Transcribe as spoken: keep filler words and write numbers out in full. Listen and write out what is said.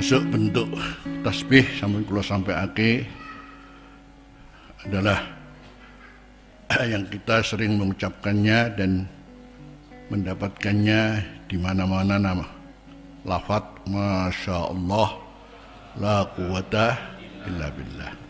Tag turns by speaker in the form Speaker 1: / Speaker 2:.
Speaker 1: termasuk bentuk tasbih sampun kula sampaiake adalah yang kita sering mengucapkannya dan mendapatkannya di mana-mana nama lafaz Masya Allah la quwata illa billah.